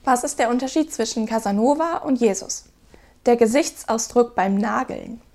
Was ist der Unterschied zwischen Casanova und Jesus? Der Gesichtsausdruck beim Nageln.